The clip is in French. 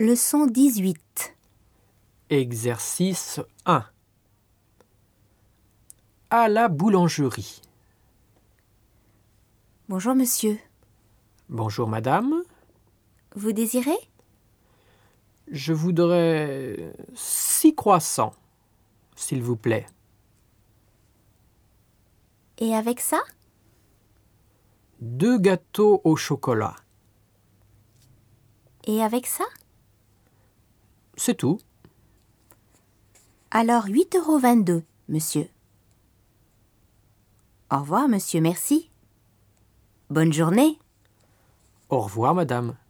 Leçon 18. Exercice 1. À la boulangerie. Bonjour monsieur. Bonjour madame. Vous désirez? Je voudrais 6 croissants, s'il vous plaît. Et avec ça? 2 gâteaux au chocolat. Et avec ça? C'est tout. Alors 8,22 €, monsieur. Au revoir monsieur, merci. Bonne journée. Au revoir madame.